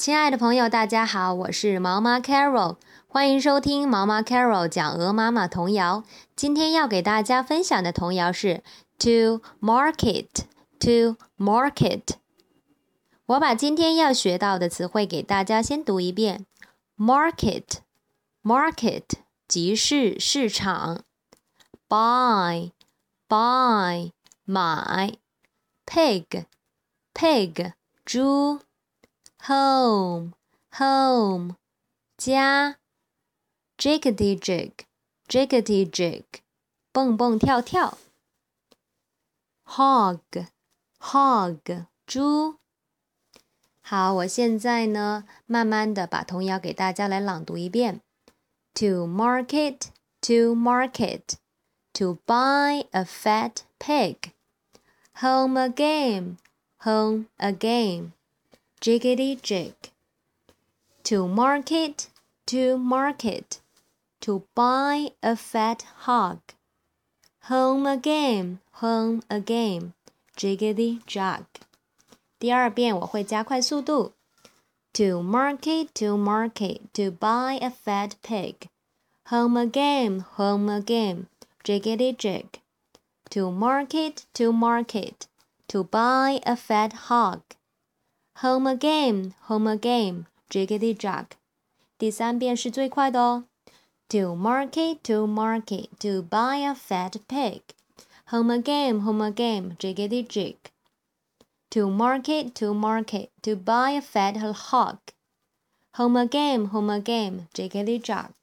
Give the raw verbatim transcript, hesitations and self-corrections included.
亲爱的朋友，大家好，我是毛妈 Carol， 欢迎收听毛妈 Carol 讲鹅妈妈童谣。今天要给大家分享的童谣是 To market, to market。我把今天要学到的词汇给大家先读一遍。Market, market 集市市场。Buy, buy 买。Pig, pig 猪。Home, home 家。Jiggity jig, jiggity jig 蹦蹦跳跳。Hog, hog 猪。好，我现在呢，慢慢的把童谣给大家来朗读一遍。To market, to market, to buy a fat pig. Home again, home again.Jiggity jig. To market, to market, to buy a fat hog. Home again, home again, jiggity jog. 第二遍我会加快速度。To market, to market, to buy a fat pig. Home again, home again, jiggity jig. To market, to market, to buy a fat hog.Home again, home again, jiggity jog. 第三遍是最快的哦。To market, to market, to buy a fat pig. Home again, home again, jiggity jig. To market, to market, to buy a fat hog. Home again, home again, jiggity jog.